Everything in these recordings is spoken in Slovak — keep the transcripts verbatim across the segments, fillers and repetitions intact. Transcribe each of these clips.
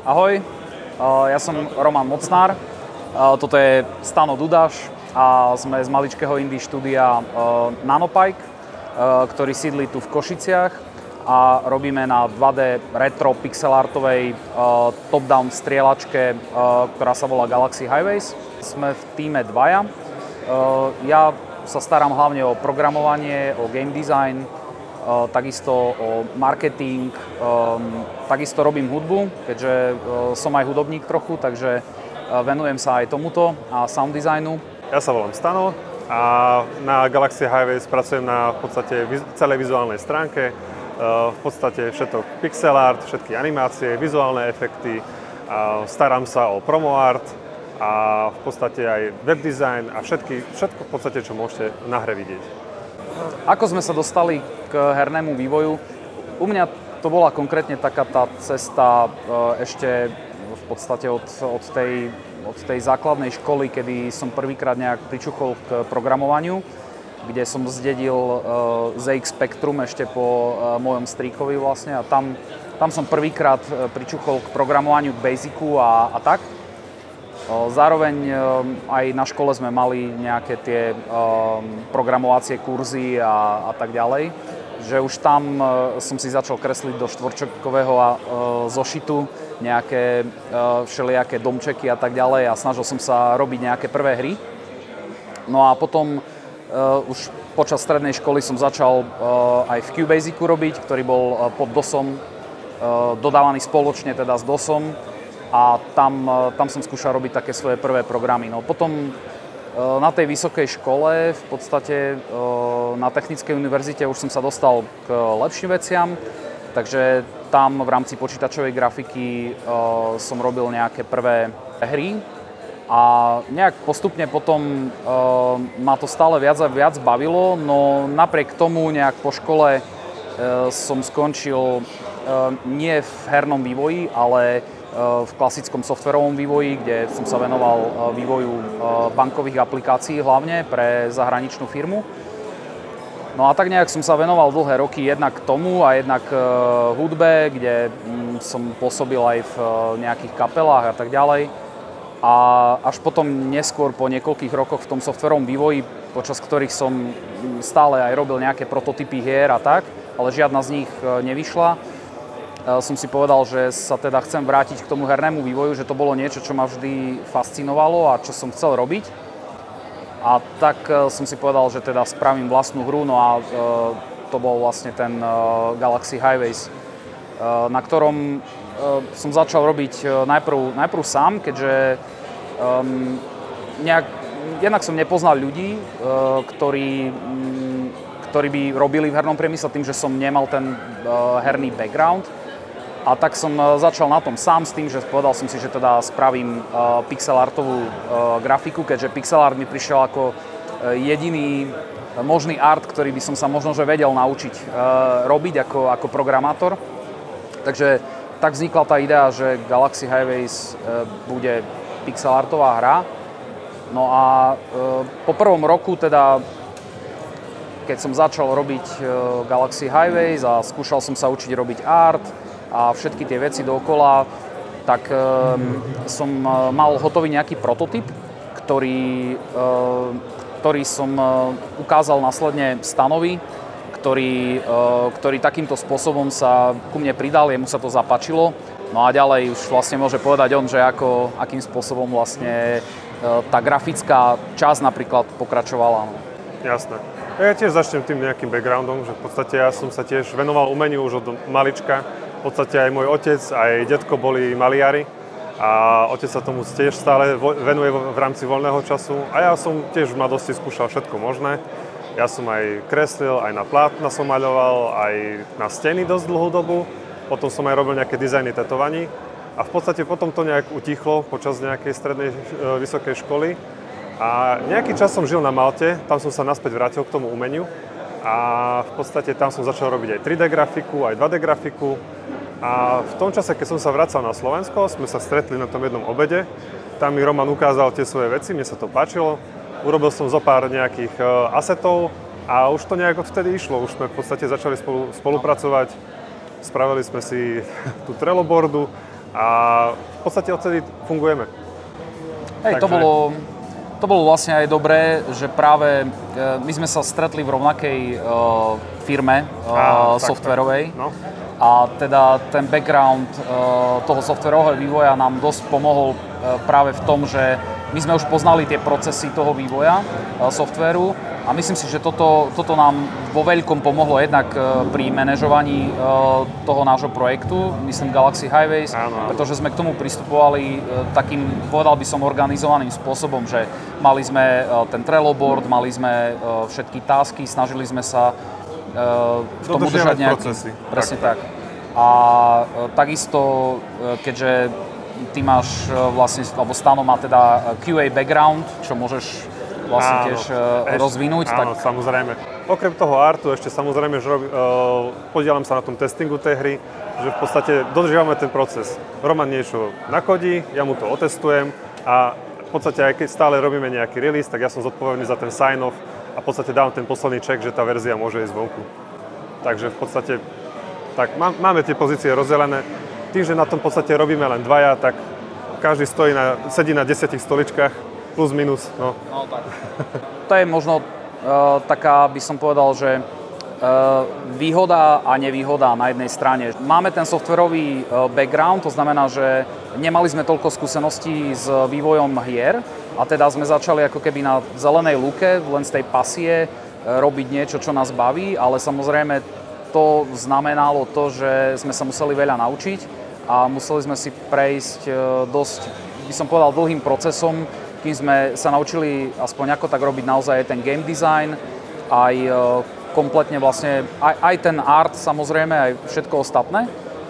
Ahoj, ja som Roman Mocnár, toto je Stano Dudáš a sme z maličkého indie štúdia Nanopike, ktorý sídli tu v Košiciach a robíme na dva dé retro pixelartovej top-down strieľačke, ktorá sa volá Galaxy Highways. Sme v tíme dvaja. Ja sa starám hlavne o programovanie, o game design, takisto o marketing, takisto robím hudbu, keďže som aj hudobník trochu, takže venujem sa aj tomuto a sound designu. Ja sa volám Stano a na Galaxy Highways pracujem na v podstate celej vizuálnej stránke, v podstate všetko pixel art, všetky animácie, vizuálne efekty, starám sa o promo art a v podstate aj web design a všetky, všetko v podstate, čo môžete na hre vidieť. Ako sme sa dostali k hernému vývoju? U mňa to bola konkrétne taká tá cesta ešte v podstate od, od, tej, od tej základnej školy, kedy som prvýkrát nejak pričuchol k programovaniu, kde som zdedil zet iks Spectrum ešte po mojom strýkovi vlastne a tam, tam som prvýkrát pričuchol k programovaniu, k Basicu a, a tak. Zároveň aj na škole sme mali nejaké tie programovacie kurzy a, a tak ďalej, že už tam som si začal kresliť do štvorčekového zošitu nejaké všelijaké domčeky a tak ďalej a snažil som sa robiť nejaké prvé hry. No a potom už počas strednej školy som začal aj v QBasicu robiť, ktorý bol pod DOSom dodávaný spoločne teda s DOSom. A tam, tam som skúšal robiť také svoje prvé programy. No potom na tej vysokej škole, v podstate na Technickej univerzite už som sa dostal k lepším veciam, takže tam v rámci počítačovej grafiky som robil nejaké prvé hry a nejak postupne potom ma to stále viac a viac bavilo, no napriek tomu nejak po škole som skončil nie v hernom vývoji, ale v klasickom softverovom vývoji, kde som sa venoval vývoju bankových aplikácií hlavne pre zahraničnú firmu. No a tak nejak som sa venoval dlhé roky jednak tomu a jednak hudbe, kde som pôsobil aj v nejakých kapelách a tak ďalej. A až potom neskôr po niekoľkých rokoch v tom softverovom vývoji, počas ktorých som stále aj robil nejaké prototypy hier a tak, ale žiadna z nich nevyšla, som si povedal, že sa teda chcem vrátiť k tomu hernému vývoju, že to bolo niečo, čo ma vždy fascinovalo a čo som chcel robiť. A tak som si povedal, že teda spravím vlastnú hru, no a to bol vlastne ten Galaxy Highways, na ktorom som začal robiť najprv, najprv sám, keďže um, nejak, jednak som nepoznal ľudí, ktorí, ktorí by robili v hernom priemysle tým, že som nemal ten herný background. A tak som začal na tom sám s tým, že povedal som si, že teda spravím uh, pixelartovú uh, grafiku, keďže pixelart mi prišiel ako uh, jediný možný art, ktorý by som sa možno že vedel naučiť uh, robiť ako, ako programátor. Takže tak vznikla tá idea, že Galaxy Highways uh, bude pixelartová hra. No a uh, po prvom roku teda, keď som začal robiť uh, Galaxy Highways a skúšal som sa učiť robiť art, a všetky tie veci dookola, tak e, som mal hotový nejaký prototyp, ktorý, e, ktorý som e, ukázal následne Stanovi, ktorý, e, ktorý takýmto spôsobom sa ku mne pridal, jemu sa to zapáčilo. No a ďalej už vlastne môže povedať on, že ako, akým spôsobom vlastne e, tá grafická časť napríklad pokračovala. No. Jasné. Ja tiež začnem tým nejakým backgroundom, že v podstate ja som sa tiež venoval umeniu už od malička. V podstate aj môj otec, aj detko boli maliari a otec sa tomu tiež stále venuje v rámci voľného času a ja som tiež v mladosti skúšal všetko možné. Ja som aj kreslil, aj na plátna som maľoval, aj na steny dosť dlhú dobu, potom som aj robil nejaké dizajny tetovaní a v podstate potom to nejak utichlo počas nejakej strednej vysokej školy a nejaký čas som žil na Malte, tam som sa naspäť vrátil k tomu umeniu a v podstate tam som začal robiť aj tri dé grafiku, aj dva dé grafiku. A v tom čase, keď som sa vracal na Slovensko, sme sa stretli na tom jednom obede. Tam mi Roman ukázal tie svoje veci, mne sa to páčilo. Urobil som zo pár nejakých asetov a už to nejak odvtedy išlo. Už sme v podstate začali spolu, spolupracovať. Spravili sme si tú Trello boardu, a v podstate odtedy fungujeme. Hej, Takže... to bolo... To bolo vlastne aj dobré, že práve my sme sa stretli v rovnakej uh, firme uh, softwarovej. No. A teda ten background uh, toho softwarového vývoja nám dosť pomohol uh, práve v tom, že my sme už poznali tie procesy toho vývoja uh, softwaru a myslím si, že toto, toto nám vo veľkom pomohlo jednak uh, pri manažovaní uh, toho nášho projektu, myslím Galaxy Highways, áno, áno. Pretože sme k tomu pristupovali uh, takým, povedal by som, organizovaným spôsobom, že mali sme uh, ten Trello board, mali sme uh, všetky tasky, snažili sme sa uh, v tom udržať nejaký... procesy. Presne tak. tak. A uh, takisto, uh, keďže ty máš uh, vlastne, alebo Stano má teda Q A background, čo môžeš vlastne áno, tiež uh, rozvinúť. Áno, tak... samozrejme. Okrem toho artu ešte samozrejme, že robi, uh, podielam sa na tom testingu tej hry, že v podstate dodržiavame ten proces. Roman niečo nakodí, ja mu to otestujem a v podstate aj keď stále robíme nejaký release, tak ja som zodpovedný za ten sign-off a v podstate dávam ten posledný check, že tá verzia môže ísť vonku. Takže v podstate tak má, máme tie pozície rozdelené. Tým, že na tom v podstate robíme len dvaja, tak každý stojí na, sedí na desiatich stoličkách. Plus, minus, no. No tak. To je možno uh, taká, by som povedal, že uh, výhoda a nevýhoda na jednej strane. Máme ten softwarový uh, background, to znamená, že nemali sme toľko skúseností s vývojom hier a teda sme začali ako keby na zelenej lúke, len z tej pasie uh, robiť niečo, čo nás baví, ale samozrejme to znamenalo to, že sme sa museli veľa naučiť a museli sme si prejsť uh, dosť, by som povedal, dlhým procesom, kým sme sa naučili aspoň ako tak robiť naozaj ten game design, aj kompletne vlastne, aj, aj ten art samozrejme, aj všetko ostatné.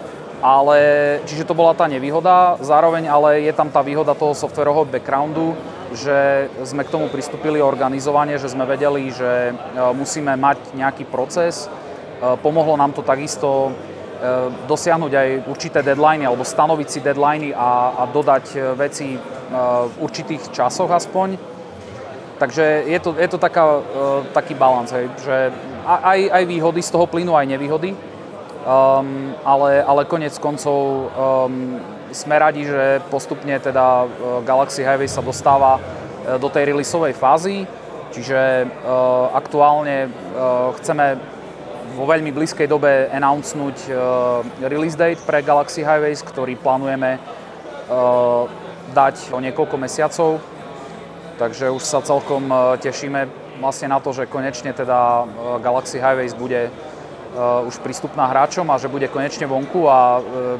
Ale, čiže to bola tá nevýhoda, zároveň ale je tam tá výhoda toho softwarového backgroundu, že sme k tomu pristúpili organizovane, že sme vedeli, že musíme mať nejaký proces. Pomohlo nám to takisto dosiahnuť aj určité deadliny alebo stanoviť si deadliny a, a dodať veci v určitých časoch aspoň. Takže je to, je to taká, taký balans, hej, že aj, aj výhody z toho plynú, aj nevýhody. Um, ale, ale konec koncov um, sme radi, že postupne teda Galaxy Highway sa dostáva do tej releaseovej fázy. Čiže uh, aktuálne uh, chceme vo veľmi blízkej dobe announcenúť uh, release date pre Galaxy Highways, ktorý plánujeme uh, dať o niekoľko mesiacov. Takže už sa celkom uh, tešíme vlastne na to, že konečne teda uh, Galaxy Highways bude uh, už prístupná hráčom a že bude konečne vonku a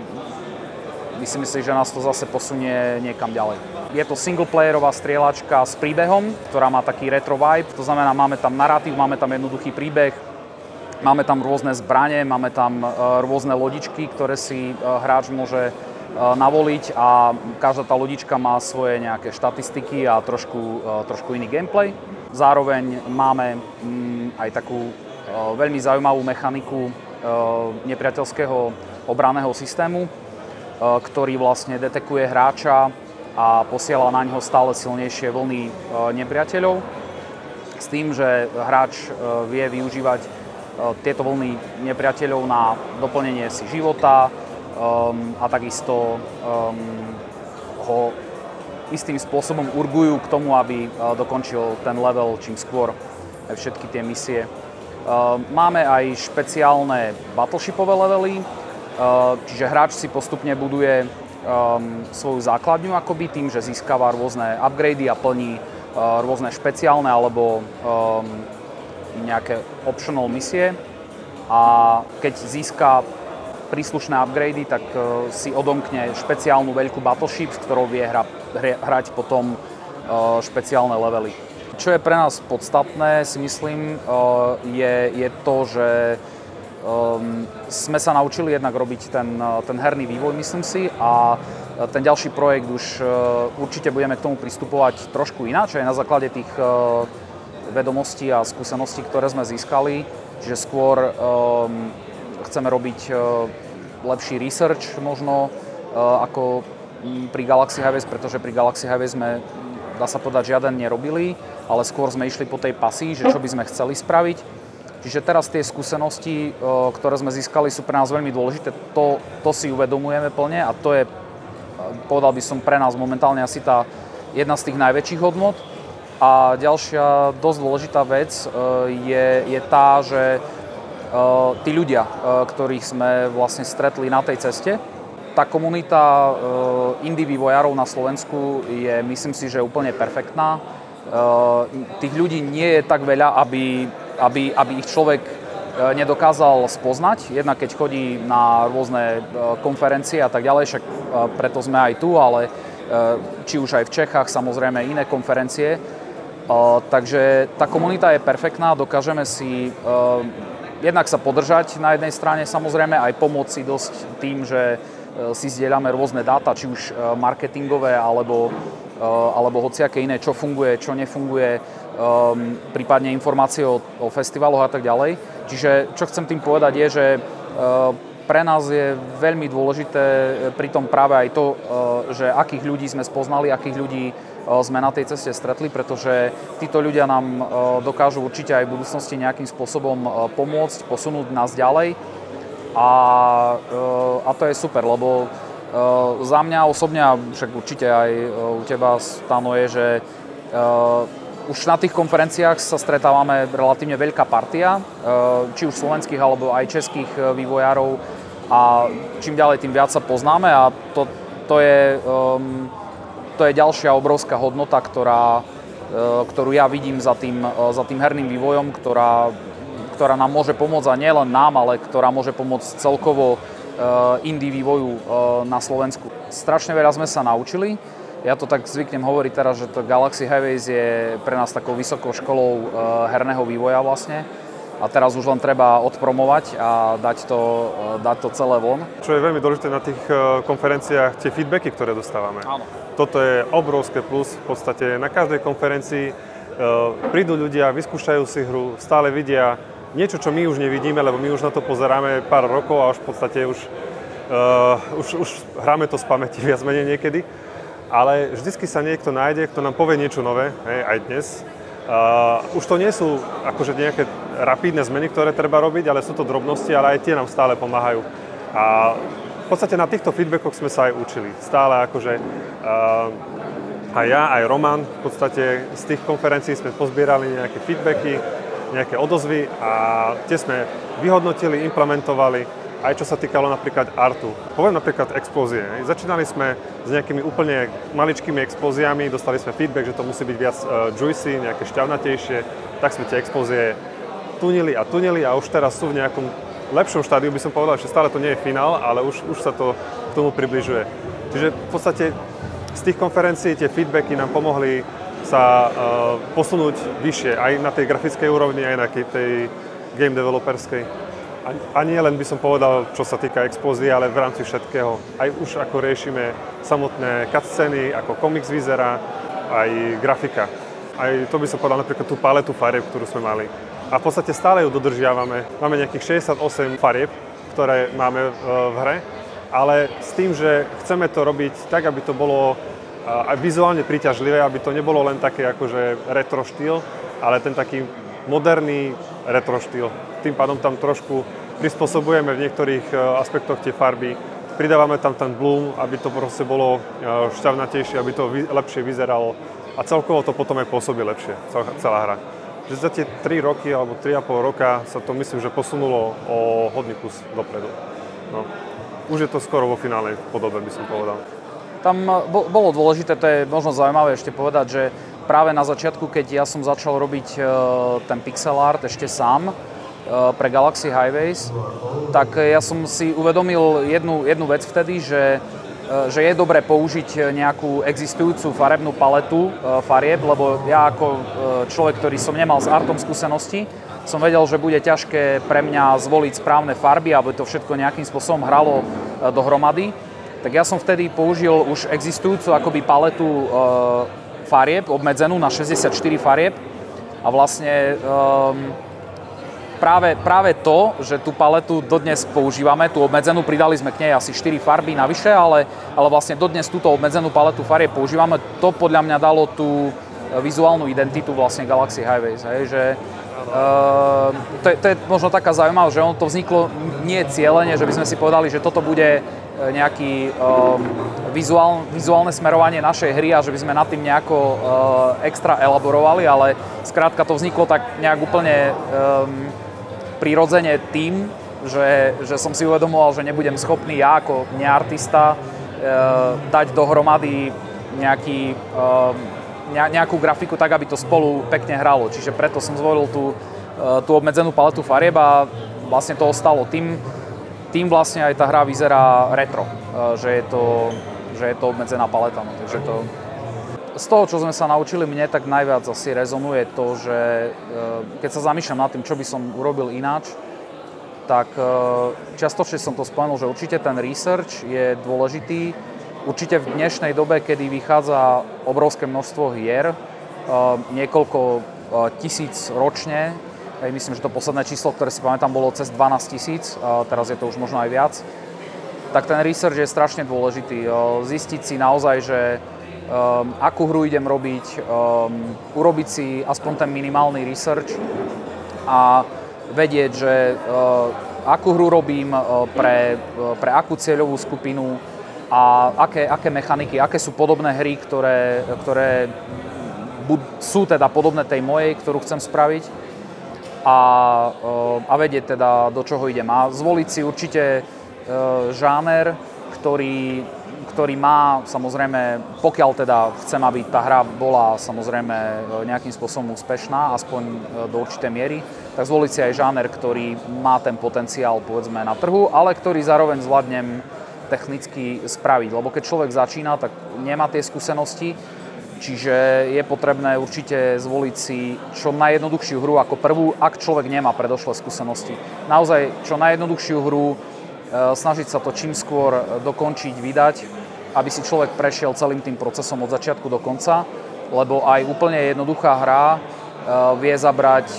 uh, myslím si, že nás to zase posunie niekam ďalej. Je to singleplayerová strieľačka s príbehom, ktorá má taký retro vibe, to znamená, máme tam narratív, máme tam jednoduchý príbeh, máme tam rôzne zbrane, máme tam uh, rôzne lodičky, ktoré si uh, hráč môže uh, navoliť a každá tá lodička má svoje nejaké štatistiky a trošku, uh, trošku iný gameplay. Zároveň máme um, aj takú uh, veľmi zaujímavú mechaniku uh, nepriateľského obranného systému, uh, ktorý vlastne detekuje hráča a posiela na ňo stále silnejšie vlny uh, nepriateľov s tým, že hráč uh, vie využívať tieto vlny nepriateľov na doplnenie si života um, a takisto um, ho istým spôsobom urgujú k tomu, aby uh, dokončil ten level čím skôr aj všetky tie misie. Uh, máme aj špeciálne battleshipové levely, uh, čiže hráč si postupne buduje um, svoju základňu akoby tým, že získava rôzne upgrady a plní uh, rôzne špeciálne alebo um, nejaké optional misie a keď získa príslušné upgrady, tak uh, si odomkne špeciálnu veľkú battleship, s ktorou vie hra, hra, hrať potom uh, špeciálne levely. Čo je pre nás podstatné, si myslím, uh, je, je to, že um, sme sa naučili jednak robiť ten, ten herný vývoj, myslím si, a ten ďalší projekt už uh, určite budeme k tomu pristupovať trošku ináč, aj na základe tých uh, vedomostí a skúseností, ktoré sme získali. Čiže skôr um, chceme robiť uh, lepší research možno uh, ako pri Galaxy Highways, pretože pri Galaxy Highways sme, dá sa povedať, žiaden nerobili, ale skôr sme išli po tej pasii, že čo by sme chceli spraviť. Čiže teraz tie skúsenosti, uh, ktoré sme získali, sú pre nás veľmi dôležité. To, to si uvedomujeme plne a to je povedal by som pre nás momentálne asi tá jedna z tých najväčších hodnot. A ďalšia dosť dôležitá vec je, je tá, že tí ľudia, ktorých sme vlastne stretli na tej ceste, tá komunita indie vývojárov na Slovensku je, myslím si, že úplne perfektná. Tých ľudí nie je tak veľa, aby, aby, aby ich človek nedokázal spoznať. Jednak keď chodí na rôzne konferencie a tak ďalej, však preto sme aj tu, ale či už aj v Čechách, samozrejme iné konferencie. Takže tá komunita je perfektná, dokážeme si jednak sa podržať na jednej strane, samozrejme aj pomôcť si dosť tým, že si zdieľame rôzne dáta, či už marketingové, alebo, alebo hociaké iné, čo funguje, čo nefunguje, prípadne informácie o, o festivaloch a tak ďalej. Čiže čo chcem tým povedať je, že pre nás je veľmi dôležité pri tom práve aj to, že akých ľudí sme spoznali, akých ľudí sme na tej ceste stretli, pretože títo ľudia nám dokážu určite aj v budúcnosti nejakým spôsobom pomôcť, posunúť nás ďalej. A, a to je super, lebo za mňa osobne, a však určite aj u teba, Stano, je, že už na tých konferenciách sa stretávame relatívne veľká partia, či už slovenských alebo aj českých vývojárov, a čím ďalej, tým viac sa poznáme, a to, to, je, to je ďalšia obrovská hodnota, ktorá, ktorú ja vidím za tým, za tým herným vývojom, ktorá ktorá nám môže pomôcť, a nielen nám, ale ktorá môže pomôcť celkovo indie vývoju na Slovensku. Strašne veľa sme sa naučili. Ja to tak zvyknem hovoriť teraz, že to Galaxy Highways je pre nás takou vysokou školou herného vývoja vlastne. A teraz už len treba odpromovať a dať to, dať to celé von. Čo je veľmi dôležité na tých konferenciách, tie feedbacky, ktoré dostávame. Áno. Toto je obrovské plus. V podstate na každej konferencii prídu ľudia, vyskúšajú si hru, stále vidia niečo, čo my už nevidíme, lebo my už na to pozeráme pár rokov a už v podstate už, uh, už, už hráme to z pamäti viac menej niekedy. Ale vždycky sa niekto nájde, kto nám povie niečo nové, hej, aj dnes. Uh, už to nie sú akože nejaké rapídne zmeny, ktoré treba robiť, ale sú to drobnosti, ale aj tie nám stále pomáhajú. A v podstate na týchto feedbackoch sme sa aj učili. Stále akože uh, aj ja, aj Roman, v podstate z tých konferencií sme pozbierali nejaké feedbacky, nejaké odozvy, a tie sme vyhodnotili, implementovali, aj čo sa týkalo napríklad artu. Poviem napríklad explózie. Začínali sme s nejakými úplne maličkými explóziami, dostali sme feedback, že to musí byť viac uh, juicy, nejaké šťavnatejšie, tak sme tie explózie tunili a tunili, a už teraz sú v nejakom lepšom štádiu, by som povedal, že stále to nie je finál, ale už, už sa to k tomu približuje. Čiže v podstate z tých konferencií tie feedbacky nám pomohli sa uh, posunúť vyššie, aj na tej grafickej úrovni, aj na tej game developerskej. A, a nie len by som povedal, čo sa týka explózie, ale v rámci všetkého. Aj už ako riešime samotné cutscény, ako komiks vyzerá, aj grafika. Aj to by som povedal napríklad tú paletu farieb, ktorú sme mali. A v podstate stále ju dodržiavame. Máme nejakých šesťdesiatosem farieb, ktoré máme uh, v hre, ale s tým, že chceme to robiť tak, aby to bolo aj vizuálne príťažlivé, aby to nebolo len také akože retro štýl, ale ten taký moderný retro štýl. Tým pádom tam trošku prispôsobujeme v niektorých aspektoch tie farby, pridávame tam ten bloom, aby to proste bolo šťavnatejšie, aby to lepšie vyzeralo, a celkovo to potom aj pôsobí lepšie, celá hra. Že za tie tri roky alebo tri a pol roka sa to, myslím, že posunulo o hodný kus dopredu. No. Už je to skoro vo finálnej podobe, by som povedal. Tam bolo dôležité, to je možno zaujímavé ešte povedať, že práve na začiatku, keď ja som začal robiť ten pixel art ešte sám pre Galaxy Highways, tak ja som si uvedomil jednu, jednu vec vtedy, že, že je dobré použiť nejakú existujúcu farebnú paletu farieb, lebo ja ako človek, ktorý som nemal s artom skúsenosti, som vedel, že bude ťažké pre mňa zvoliť správne farby, aby to všetko nejakým spôsobom hralo dohromady. Tak ja som vtedy použil už existujúcu akoby paletu e, farieb, obmedzenú na šesťdesiatštyri farieb. A vlastne e, práve, práve to, že tú paletu dodnes používame, tú obmedzenú, pridali sme k nej asi štyri farby navyše, ale, ale vlastne dodnes túto obmedzenú paletu farieb používame, to podľa mňa dalo tú vizuálnu identitu vlastne Galaxy Highways. Hej, že, e, to, je, to je možno taká zaujímavá, že ono to vzniklo nie cieľene, že by sme si povedali, že toto bude nejaký um, vizuál, vizuálne smerovanie našej hry a že by sme nad tým nejako uh, extra elaborovali, ale skrátka to vzniklo tak nejak úplne um, prirodzene tým, že, že som si uvedomoval, že nebudem schopný ja ako neartista uh, dať dohromady nejaký, uh, nejakú grafiku tak, aby to spolu pekne hralo. Čiže preto som zvolil tú, uh, tú obmedzenú paletu farieb a vlastne to ostalo tým, tým vlastne aj tá hra vyzerá retro, že je to, že je to obmedzená paleta. No, takže to... Z toho, čo sme sa naučili, mne tak najviac asi rezonuje to, že keď sa zamýšľam nad tým, čo by som urobil ináč, tak čiastočne som to spomenul, že určite ten research je dôležitý. Určite v dnešnej dobe, kedy vychádza obrovské množstvo hier, niekoľko tisíc ročne, Hej, myslím, že to posledné číslo, ktoré si pamätám, bolo cez dvanásť tisíc, teraz je to už možno aj viac. Tak ten research je strašne dôležitý. Zistiť si naozaj, že um, akú hru idem robiť, um, urobiť si aspoň ten minimálny research a vedieť, že uh, akú hru robím uh, pre, uh, pre akú cieľovú skupinu a aké, aké mechaniky, aké sú podobné hry, ktoré, ktoré bud- sú teda podobné tej mojej, ktorú chcem spraviť. A, a vedieť teda, do čoho idem. A zvoliť si určite žáner, ktorý, ktorý má, samozrejme, pokiaľ teda chcem, aby tá hra bola samozrejme nejakým spôsobom úspešná, aspoň do určitej miery, tak zvoliť si aj žáner, ktorý má ten potenciál, povedzme, na trhu, ale ktorý zároveň zvládnem technicky spraviť. Lebo keď človek začína, tak nemá tie skúsenosti, čiže je potrebné určite zvoliť si čo najjednoduchšiu hru ako prvú, ak človek nemá predošlé skúsenosti. Naozaj čo najjednoduchšiu hru, snažiť sa to čím skôr dokončiť, vydať, aby si človek prešiel celým tým procesom od začiatku do konca, lebo aj úplne jednoduchá hra vie zabrať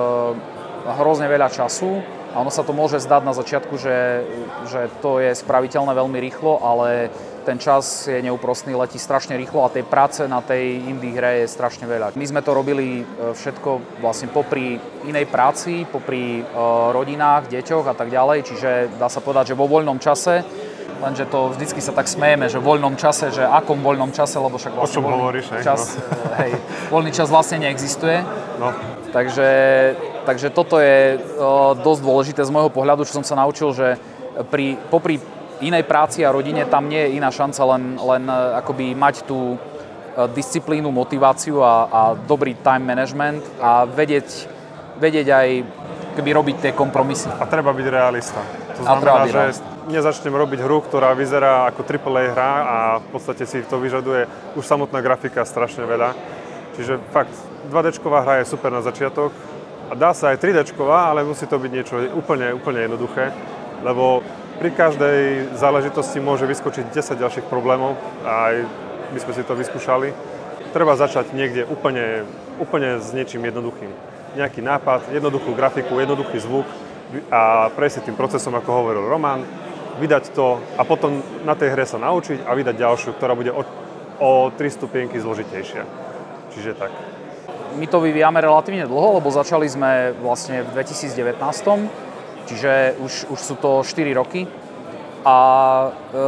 hrozne veľa času a ono sa to môže zdať na začiatku, že, že to je spraviteľné veľmi rýchlo, ale ten čas je neúprostný, letí strašne rýchlo a tej práce na tej indie hre je strašne veľa. My sme to robili všetko vlastne popri inej práci, popri uh, rodinách, deťoch a tak ďalej, čiže dá sa povedať, že vo voľnom čase, lenže to vždycky sa tak smejeme, že v voľnom čase, že akom voľnom čase, lebo však vlastne o čom voľný, hovoríš, čas, no. hej, voľný čas vlastne neexistuje. No. Takže, takže toto je uh, dosť dôležité z môjho pohľadu, čo som sa naučil, že pri, popri inej práci a rodine tam nie je iná šanca len, len akoby mať tú disciplínu, motiváciu a, a dobrý time management a vedieť, vedieť aj keby robiť tie kompromisy. A treba byť realista. To znamená, že nezačnem robiť hru, ktorá vyzerá ako triple A hra a v podstate si to vyžaduje už samotná grafika strašne veľa. Čiže fakt, dva déčková hra je super na začiatok a dá sa aj tri déčková, ale musí to byť niečo úplne, úplne jednoduché, lebo pri každej záležitosti môže vyskočiť desať ďalších problémov a aj my sme si to vyskúšali. Treba začať niekde úplne, úplne s niečím jednoduchým. Nejaký nápad, jednoduchú grafiku, jednoduchý zvuk a prejsť si tým procesom, ako hovoril Roman, vydať to a potom na tej hre sa naučiť a vydať ďalšiu, ktorá bude o, o tri stupienky zložitejšia. Čiže tak. My to vyvíjame relatívne dlho, lebo začali sme vlastne v dvetisícdevätnásť. Čiže už, už sú to štyri roky a e,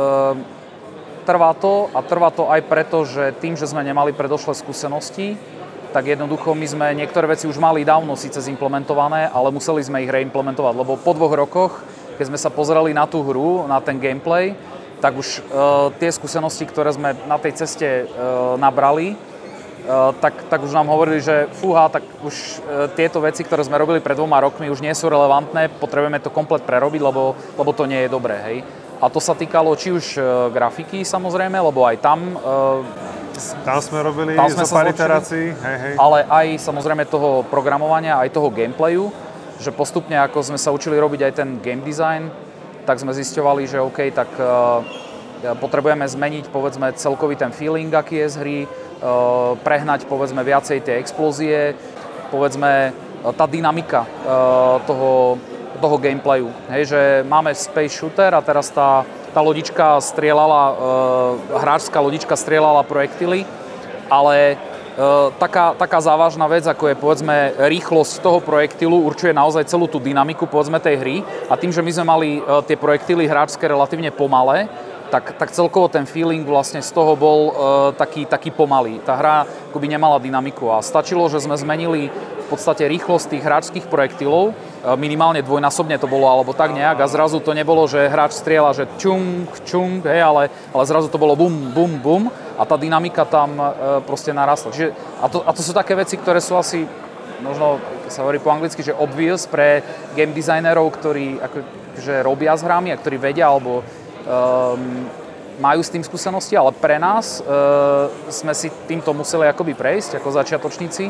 trvá to a trvá to aj preto, že tým, že sme nemali predošlé skúsenosti, tak jednoducho my sme niektoré veci už mali dávno síce zimplementované, ale museli sme ich reimplementovať, lebo po dvoch rokoch, keď sme sa pozerali na tú hru, na ten gameplay, tak už e, tie skúsenosti, ktoré sme na tej ceste e, nabrali, Uh, tak, tak už nám hovorili, že fúha, tak už uh, tieto veci, ktoré sme robili pred dvoma rokmi, už nie sú relevantné, potrebujeme to komplet prerobiť, lebo, lebo to nie je dobré, hej. A to sa týkalo či už uh, grafiky, samozrejme, lebo aj tam... Uh, tam sme robili tam sme zo pár iterácií, hej, hej. Ale aj samozrejme toho programovania, aj toho gameplayu, že postupne, ako sme sa učili robiť aj ten game design, tak sme zisťovali, že OK, tak uh, potrebujeme zmeniť, povedzme, celkový ten feeling, aký je z hry, prehnať, povedzme, viacej tie explózie, povedzme, tá dynamika toho, toho gameplayu. Hej, že máme space shooter a teraz tá, tá lodička strieľala, hráčská lodička strieľala projektily, ale taká, taká závažná vec, ako je povedzme rýchlosť toho projektilu, určuje naozaj celú tú dynamiku povedzme tej hry a tým, že my sme mali tie projektily hráčske relatívne pomalé, tak, tak celkovo ten feeling vlastne z toho bol uh, taký, taký pomalý. Tá hra akoby nemala dynamiku a stačilo, že sme zmenili v podstate rýchlosť tých hráčských projektilov, uh, minimálne dvojnásobne to bolo alebo tak nejak a zrazu to nebolo, že hráč strieľa, že čung, čung, hej, ale, ale zrazu to bolo bum, bum, bum a tá dynamika tam uh, proste narastla. Čiže, a, to, a to sú také veci, ktoré sú asi možno sa hovorí po anglicky, že obvious pre game designerov, ktorí akože robia s hrami a ktorí vedia alebo Um, majú s tým skúsenosti, ale pre nás uh, sme si týmto museli akoby prejsť ako začiatočníci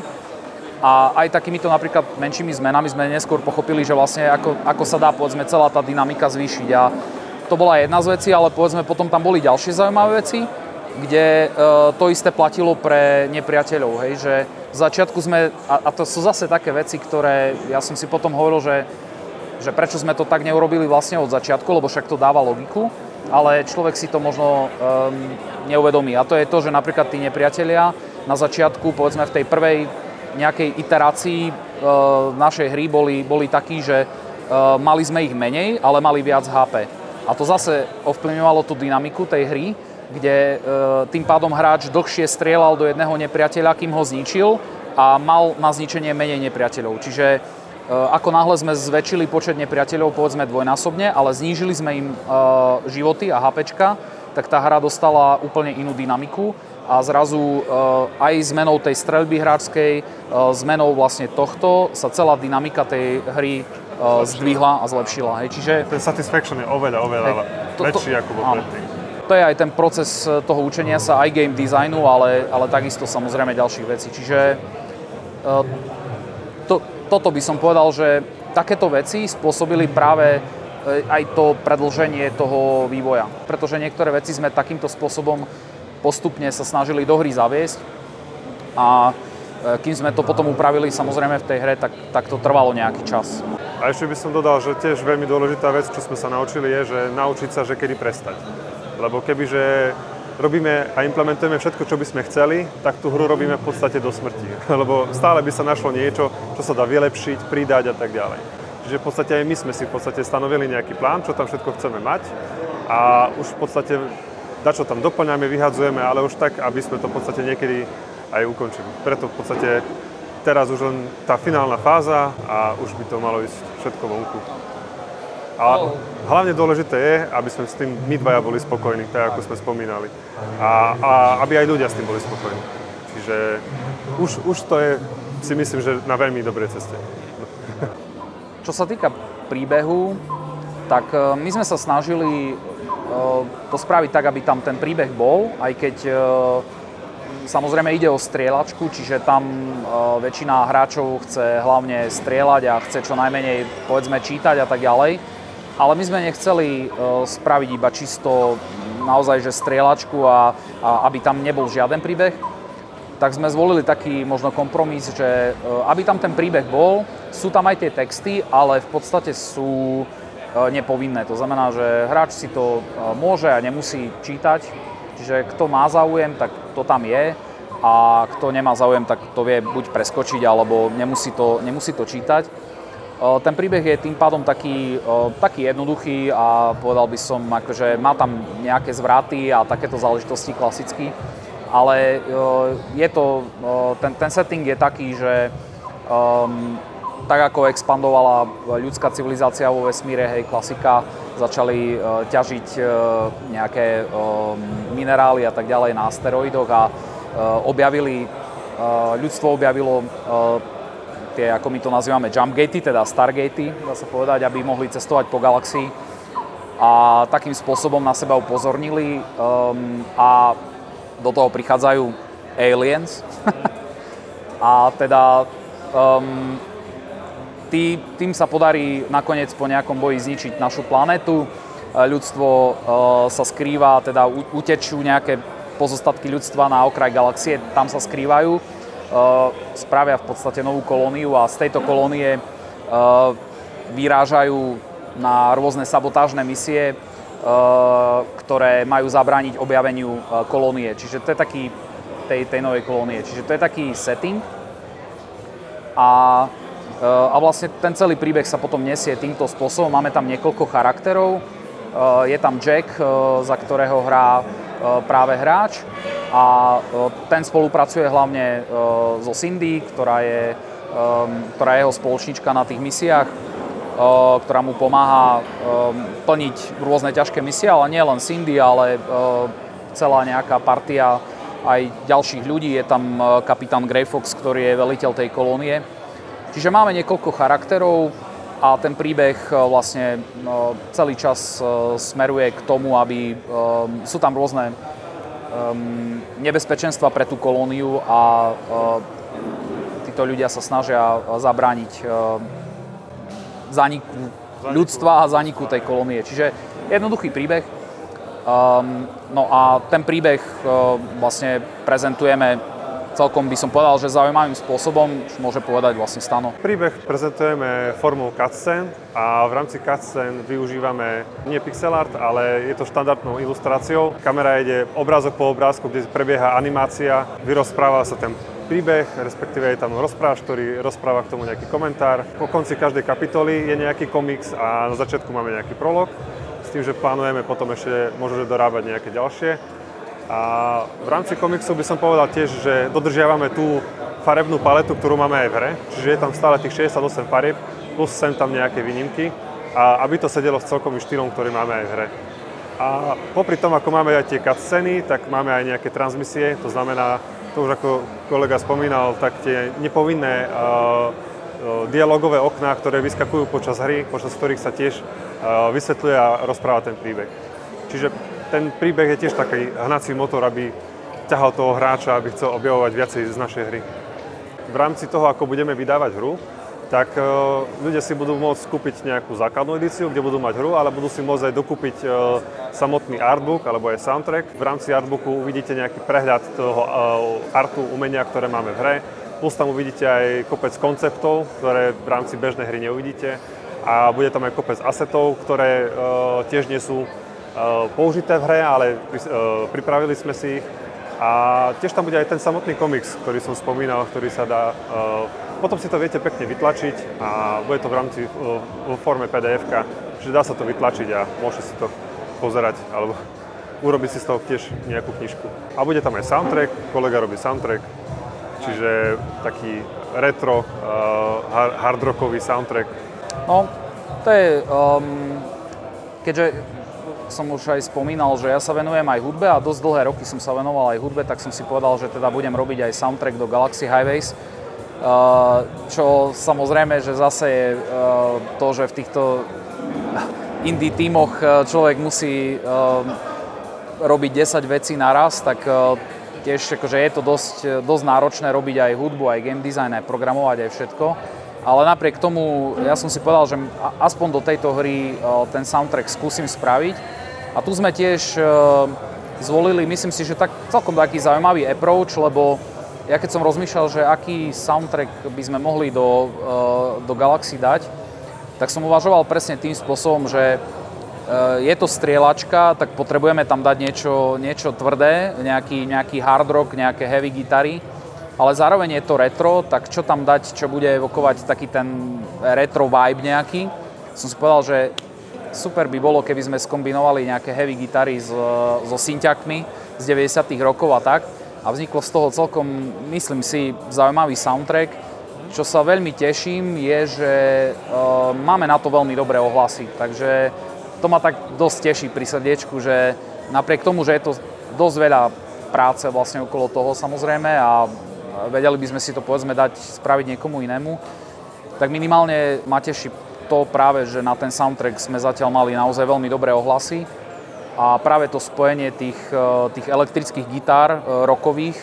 a aj takýmito napríklad menšími zmenami sme neskôr pochopili, že vlastne ako, ako sa dá povedzme celá tá dynamika zvýšiť a to bola jedna z vecí, ale povedzme potom tam boli ďalšie zaujímavé veci, kde uh, to isté platilo pre nepriateľov, hej, že v začiatku sme, a, a to sú zase také veci, ktoré ja som si potom hovoril, že, že prečo sme to tak neurobili vlastne od začiatku, lebo však to dáva logiku, ale človek si to možno um, neuvedomí. A to je to, že napríklad tí nepriatelia na začiatku, povedzme v tej prvej nejakej iterácii uh, našej hry boli, boli takí, že uh, mali sme ich menej, ale mali viac há pé. A to zase ovplyvňovalo tú dynamiku tej hry, kde uh, tým pádom hráč dlhšie strieľal do jedného nepriateľa, kým ho zničil a mal na zničenie menej nepriateľov. Čiže ako náhle sme zväčšili počet nepriateľov, povedzme dvojnásobne, ale znížili sme im uh, životy a hápečka, tak tá hra dostala úplne inú dynamiku a zrazu uh, aj zmenou tej streľby hráčskej, uh, zmenou vlastne tohto sa celá dynamika tej hry uh, zdvihla a zlepšila. Hej. Čiže ten satisfaction je oveľa, oveľa hej, to, väčší to, ako bol predtým. To je aj ten proces toho učenia sa aj game designu, ale, ale takisto samozrejme ďalších vecí. Čiže uh, to Toto by som povedal, že takéto veci spôsobili práve aj to predĺženie toho vývoja. Pretože niektoré veci sme takýmto spôsobom postupne sa snažili do hry zaviesť a kým sme to potom upravili samozrejme v tej hre, tak, tak to trvalo nejaký čas. A ešte by som dodal, že tiež veľmi dôležitá vec, čo sme sa naučili, je, že naučiť sa, že kedy prestať. Lebo kebyže robíme a implementujeme všetko, čo by sme chceli, tak tú hru robíme v podstate do smrti. Lebo stále by sa našlo niečo, čo sa dá vylepšiť, pridať a tak ďalej. Čiže v podstate aj my sme si v podstate stanovili nejaký plán, čo tam všetko chceme mať a už v podstate dačo tam doplňame, vyhadzujeme, ale už tak, aby sme to v podstate niekedy aj ukončili. Preto v podstate teraz už len tá finálna fáza a už by to malo ísť všetko vonku. A hlavne dôležité je, aby sme s tým my dvaja boli spokojní, tak ako sme spomínali. A, a aby aj ľudia s tým boli spokojní. Čiže už, už to je, si myslím, že na veľmi dobrej ceste. Čo sa týka príbehu, tak my sme sa snažili to spraviť tak, aby tam ten príbeh bol, aj keď samozrejme ide o strieľačku, čiže tam väčšina hráčov chce hlavne strieľať a chce čo najmenej, povedzme, čítať a tak ďalej. Ale my sme nechceli uh, spraviť iba čisto naozaj, že strieľačku a, a aby tam nebol žiaden príbeh. Tak sme zvolili taký možno kompromis, že uh, aby tam ten príbeh bol, sú tam aj tie texty, ale v podstate sú uh, nepovinné. To znamená, že hráč si to uh, môže a nemusí čítať. Čiže kto má záujem, tak to tam je. A kto nemá záujem, tak to vie buď preskočiť, alebo nemusí to, nemusí to čítať. Ten príbeh je tým pádom taký, taký jednoduchý a povedal by som, akože má tam nejaké zvraty a takéto záležitosti klasicky, ale je to, ten, ten setting je taký, že um, tak ako expandovala ľudská civilizácia vo vesmíre, hej, klasika, začali uh, ťažiť uh, nejaké um, minerály a tak ďalej na asteroidoch a uh, objavili, uh, ľudstvo objavilo uh, tie, ako my to nazývame, jumpgatey, teda stargatey, dá sa povedať, aby mohli cestovať po galaxii a takým spôsobom na seba upozornili um, a do toho prichádzajú aliens a teda um, tý, tým sa podarí nakoniec po nejakom boji zničiť našu planetu. Ľudstvo uh, sa skrýva, teda utečú nejaké pozostatky ľudstva na okraj galaxie, tam sa skrývajú. Uh, spravia v podstate novú kolóniu a z tejto kolónie uh, vyrážajú na rôzne sabotážne misie, uh, ktoré majú zabrániť objaveniu uh, kolónie. Čiže to je taký tej, tej novej kolónie. Čiže to je taký setting a, a vlastne ten celý príbeh sa potom nesie týmto spôsobom. Máme tam niekoľko charakterov. Je tam Jack, za ktorého hrá práve hráč a ten spolupracuje hlavne so Cindy, ktorá je, ktorá je jeho spoločnička na tých misiách, ktorá mu pomáha plniť rôzne ťažké misie, ale nie len Cindy, ale celá nejaká partia aj ďalších ľudí. Je tam kapitán Grey Fox, ktorý je veliteľ tej kolónie. Čiže máme niekoľko charakterov a ten príbeh vlastne celý čas smeruje k tomu, aby sú tam rôzne nebezpečenstva pre tú kolóniu a títo ľudia sa snažia zabrániť zániku ľudstva a zániku tej kolónie. Čiže jednoduchý príbeh. Um, no a ten príbeh uh, vlastne prezentujeme celkom, by som povedal, že zaujímavým spôsobom, čo môže povedať vlastne Stano. Príbeh prezentujeme formou cutscene a v rámci cutscene využívame nie pixel art, ale je to štandardnou ilustráciou. Kamera ide obrázok po obrázku, kde prebieha animácia, vyrozpráva sa ten príbeh, respektíve je tam rozprávač, ktorý rozpráva k tomu nejaký komentár. Po konci každej kapitoly je nejaký komiks a na začiatku máme nejaký prolog. S tým, že plánujeme potom ešte možno dorábať nejaké ďalšie. A v rámci komiksu by som povedal tiež, že dodržiavame tú farebnú paletu, ktorú máme aj v hre. Čiže je tam stále tých šesťdesiatosem farieb, plus sem tam nejaké výnimky. A aby to sedelo s celkovým štýlom, ktorý máme aj v hre. A popri tom, ako máme aj tie cutscény, tak máme aj nejaké transmisie. To znamená, to už ako kolega spomínal, tak tie nepovinné uh, uh, dialogové okná, ktoré vyskakujú počas hry, počas ktorých sa tiež uh, vysvetľuje a rozpráva ten príbeh. Čiže ten príbeh je tiež taký hnací motor, aby ťahal toho hráča, aby chcel objavovať viacej z našej hry. V rámci toho, ako budeme vydávať hru, tak uh, ľudia si budú môcť kúpiť nejakú základnú edíciu, kde budú mať hru, ale budú si môcť aj dokúpiť uh, samotný artbook alebo aj soundtrack. V rámci artbooku uvidíte nejaký prehľad toho uh, artu, umenia, ktoré máme v hre. Plus tam uvidíte aj kopec konceptov, ktoré v rámci bežnej hry neuvidíte. A bude tam aj kopec asetov, ktoré uh, tiež nie sú uh, použité v hre, ale pri, uh, pripravili sme si ich. A tiež tam bude aj ten samotný komiks, ktorý som spomínal, ktorý sa dá... Uh, potom si to viete pekne vytlačiť a bude to v rámci uh, vo forme pé dé efka, čiže dá sa to vytlačiť a môžete si to pozerať alebo urobiť si z toho tiež nejakú knižku. A bude tam aj soundtrack, kolega robí soundtrack, čiže taký retro, uh, hard rockový soundtrack. No, to je... Um, keďže som už aj spomínal, že ja sa venujem aj hudbe a dosť dlhé roky som sa venoval aj hudbe, tak som si povedal, že teda budem robiť aj soundtrack do Galaxy Highways. Uh, čo samozrejme, že zase je uh, to, že v týchto indie tímoch človek musí uh, robiť desať vecí naraz, tak uh, tiež akože je to dosť, dosť náročné robiť aj hudbu, aj game design, aj programovať, aj všetko. Ale napriek tomu, ja som si povedal, že aspoň do tejto hry ten soundtrack skúsim spraviť. A tu sme tiež zvolili, myslím si, že tak celkom taký zaujímavý approach, lebo ja keď som rozmýšľal, že aký soundtrack by sme mohli do, do Galaxy dať, tak som uvažoval presne tým spôsobom, že je to strieľačka, tak potrebujeme tam dať niečo, niečo tvrdé, nejaký, nejaký hard rock, nejaké heavy gitary. Ale zároveň je to retro, tak čo tam dať, čo bude evokovať taký ten retro vibe nejaký. Som si povedal, že super by bolo, keby sme skombinovali nejaké heavy gitary so, so synťakmi z deväťdesiatych rokov a tak. A vzniklo z toho celkom, myslím si, zaujímavý soundtrack. Čo sa veľmi teším, je, že uh, máme na to veľmi dobré ohlasy. Takže to ma tak dosť teší pri srdiečku, že napriek tomu, že je to dosť veľa práce vlastne okolo toho samozrejme a vedeli by sme si to povedzme dať spraviť niekomu inému, tak minimálne ma teší to práve, že na ten soundtrack sme zatiaľ mali naozaj veľmi dobré ohlasy a práve to spojenie tých, tých elektrických gitár rockových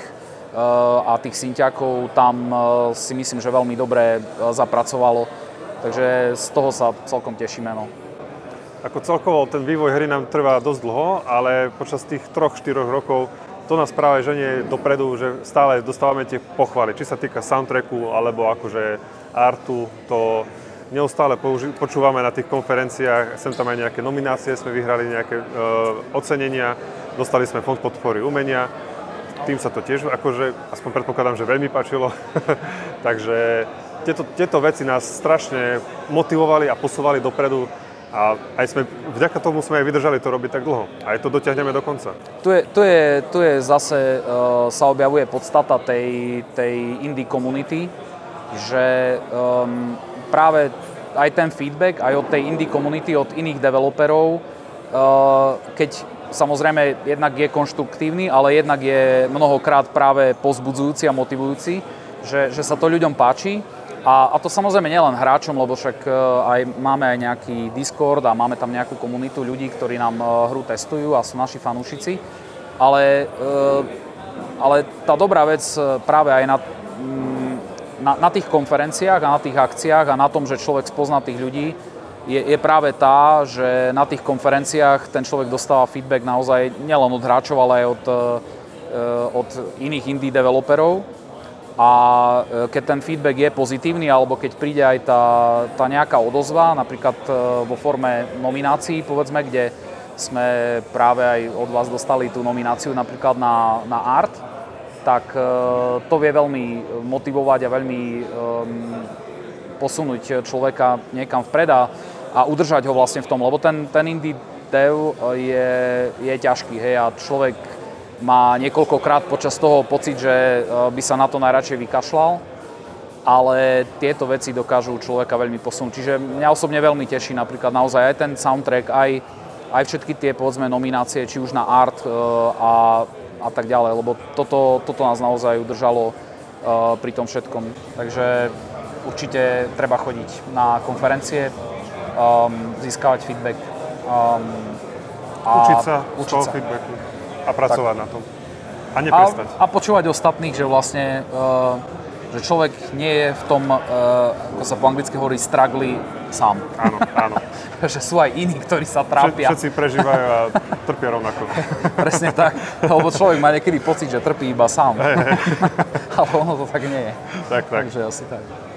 a tých synťákov tam si myslím, že veľmi dobre zapracovalo, takže z toho sa celkom tešíme. No. Ako celkovo ten vývoj hry nám trvá dosť dlho, ale počas tých troch štyroch rokov to nás práve ženie dopredu, že stále dostávame tie pochvaly, či sa týka soundtracku, alebo akože artu, to neustále použi- počúvame na tých konferenciách, sem tam aj nejaké nominácie, sme vyhrali nejaké e, ocenenia, dostali sme fond podpory umenia tým sa to tiež, akože, aspoň predpokladám, že veľmi páčilo. Takže tieto, tieto veci nás strašne motivovali a posúvali dopredu. A aj sme, vďaka tomu sme aj vydržali to robiť tak dlho. A aj to dotiahneme do konca. Tu je, tu je, tu je zase, uh, sa objavuje podstata tej, tej indie komunity, že um, práve aj ten feedback, aj od tej indie komunity, od iných developerov, uh, keď samozrejme jednak je konštruktívny, ale jednak je mnohokrát práve povzbudzujúci a motivujúci, že, že sa to ľuďom páči. A, a to samozrejme nielen hráčom, lebo však aj máme aj nejaký Discord a máme tam nejakú komunitu ľudí, ktorí nám hru testujú a sú naši fanúšici. Ale, ale tá dobrá vec práve aj na, na, na tých konferenciách a na tých akciách a na tom, že človek spozná tých ľudí, je, je práve tá, že na tých konferenciách ten človek dostáva feedback naozaj nielen od hráčov, ale aj od, od iných indie developerov. A keď ten feedback je pozitívny, alebo keď príde aj tá, tá nejaká odozva, napríklad vo forme nominácií, povedzme, kde sme práve aj od vás dostali tú nomináciu napríklad na, na art, tak to vie veľmi motivovať a veľmi um, posunúť človeka niekam vpred a, a udržať ho vlastne v tom, lebo ten, ten indie dev je, je ťažký, hej, a človek má niekoľkokrát počas toho pocit, že by sa na to najradšej vykašľal, ale tieto veci dokážu človeka veľmi posunúť. Čiže mňa osobne veľmi teší napríklad naozaj aj ten soundtrack, aj, aj všetky tie, povedzme, nominácie, či už na art a, a tak ďalej, lebo toto, toto nás naozaj udržalo pri tom všetkom. Takže určite treba chodiť na konferencie, um, získavať feedback. Um, a učiť sa učiť z toho sa. feedbacku. A pracovať tak na tom. A neprestať. A, a počúvať ostatných, že vlastne, uh, že človek nie je v tom, uh, ako sa po anglicky hovorí, struggly sám. Áno, áno. Že sú aj iní, ktorí sa trápia. Všetci prežívajú a trpia rovnako. Presne tak. Lebo človek má niekedy pocit, že trpí iba sám. Ale ono to tak nie je. Tak, tak. Takže asi tak.